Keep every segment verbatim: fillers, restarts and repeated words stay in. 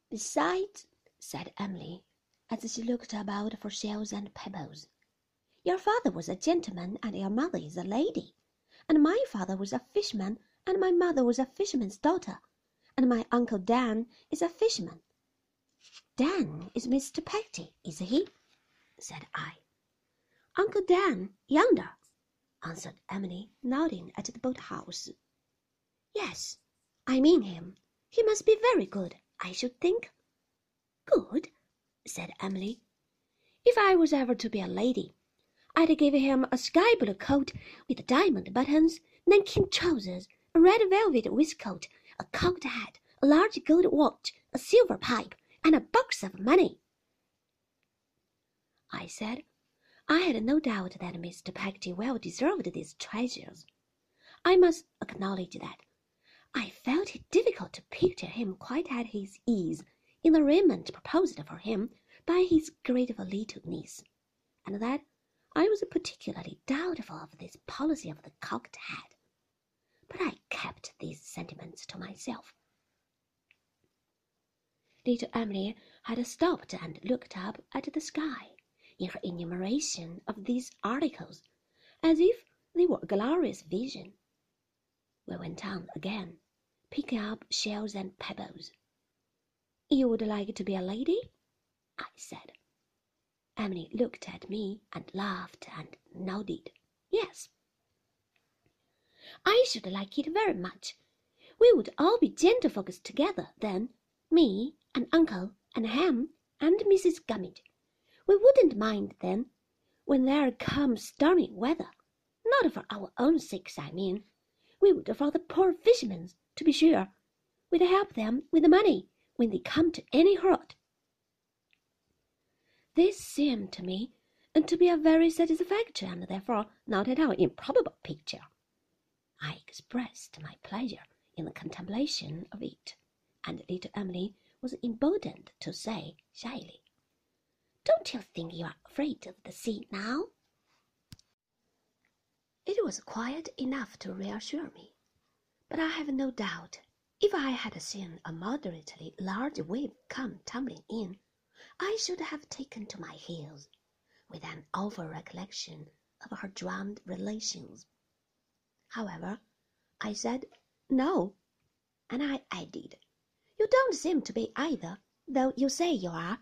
Besides, said Emily, as she looked about for shells and pebbles, your father was a gentleman and your mother is a lady, and my father was a fisherman and my mother was a fisherman's daughter, and my Uncle Dan is a fisherman. Dan is Mister Peggotty, is he? Said I. Uncle Dan, yonder, answered Emily, nodding at the boat-house. Yes, I mean him. He must be very good, I should think. Good, said Emily. If I was ever to be a lady, I'd give him a sky-blue coat with diamond buttons, nankeen trousers, a red velvet waistcoat, a cocked hat, a large gold watch, a silver pipe, and a box of money. I said I had no doubt that Mister Peggotty well deserved these treasures. I must acknowledge that I felt it difficult to picture him quite at his ease in the raiment proposed for him by his grateful little niece, and that I was particularly doubtful of this policy of the cocked hat. But I kept these sentiments to myself. Little Emily had stopped and looked up at the sky in her enumeration of these articles, as if they were a glorious vision. We went on again, picking up shells and pebbles. You would like to be a lady? I said. Emily looked at me and laughed and nodded. Yes. I should like it very much. We would all be gentlefolks together then, me and Uncle and Ham and Missus Gummidge. We wouldn't mind then, when there comes stormy weather. Not for our own sakes, I mean. We would for the poor fishermen's, to be sure. We'd help them with the money when they come to any hurt. This seemed to me to be a very satisfactory and therefore not at all improbable picture. I expressed my pleasure in the contemplation of it, and little Emily was emboldened to say shyly, Don't you think you are afraid of the sea now? It was quiet enough to reassure me, but I have no doubt if I had seen a moderately large wave come tumbling in, I should have taken to my heels, with an awful recollection of her drowned relations. However, I said no, and I added, You don't seem to be either, though you say you are.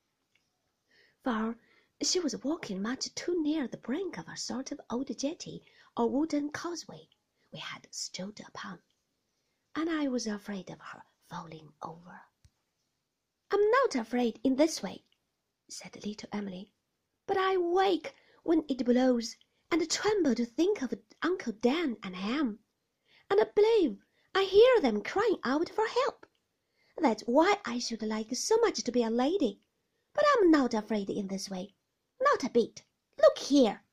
For she was walking much too near the brink of a sort of old jetty or wooden causeway we had strolled upon, and I was afraid of her falling over. I'm not afraid in this way, said little Emily, but I wake when it blows, and tremble to think of Uncle Dan and Ham, and I believe I hear them crying out for help. That's why I should like so much to be a lady, but I'm not afraid in this way, not a bit. Look here.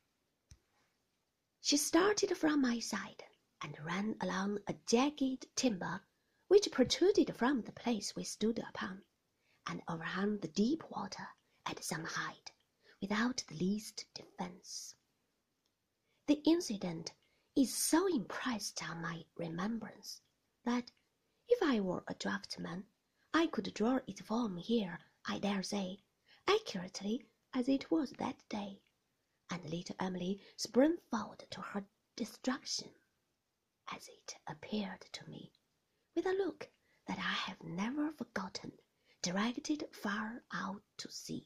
She started from my side and ran along a jagged timber which protruded from the place we stood upon, and overhung the deep water at some height, without the least defence. The incident is so impressed on my remembrance that, if I were a draughtsman, I could draw its form here, I dare say, accurately as it was that day, and little Emily sprang forward to her destruction, as it appeared to me, with a look that I have never forgotten, directed far out to sea.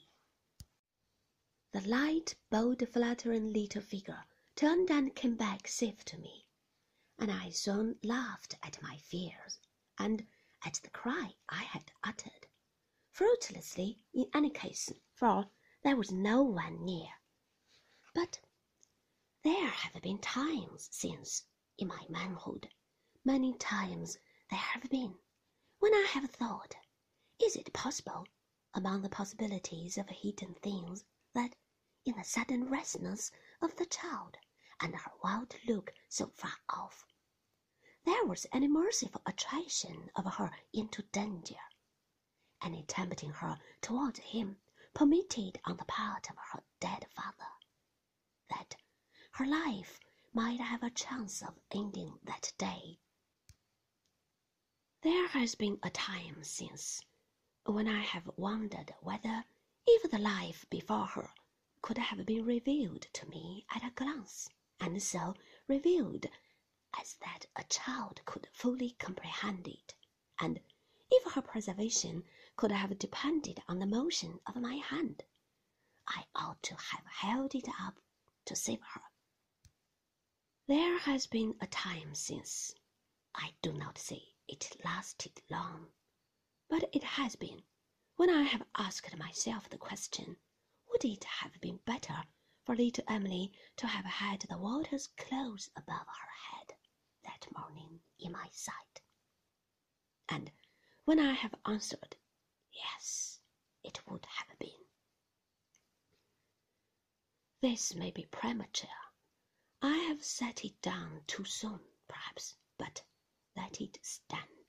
The light, bold, fluttering little figure turned and came back safe to me, and I soon laughed at my fears, and at the cry I had uttered, fruitlessly in any case, for there was no one near. But there have been times since, in my manhood, many times there have been, when I have thought, is it possible, among the possibilities of hidden things, that, in the sudden restlessness of the child, and her wild look so far off, there was any merciful attraction of her into danger, any tempting her towards him permitted on the part of her dead father, that her life might have a chance of ending that day. There has been a time since when I have wondered whether, if the life before her could have been revealed to me at a glance, and so revealed as that a child could fully comprehend it, and if her preservation could have depended on the motion of my hand, I ought to have held it up to save her. There has been a time since, I do not say it lasted long, but it has been, when I have asked myself the question, would it have been better for little Emily to have had the waters close above her head that morning in my sight? And when I have answered, yes, it would have been. This may be premature. I have set it down too soon, perhaps, but let it stand.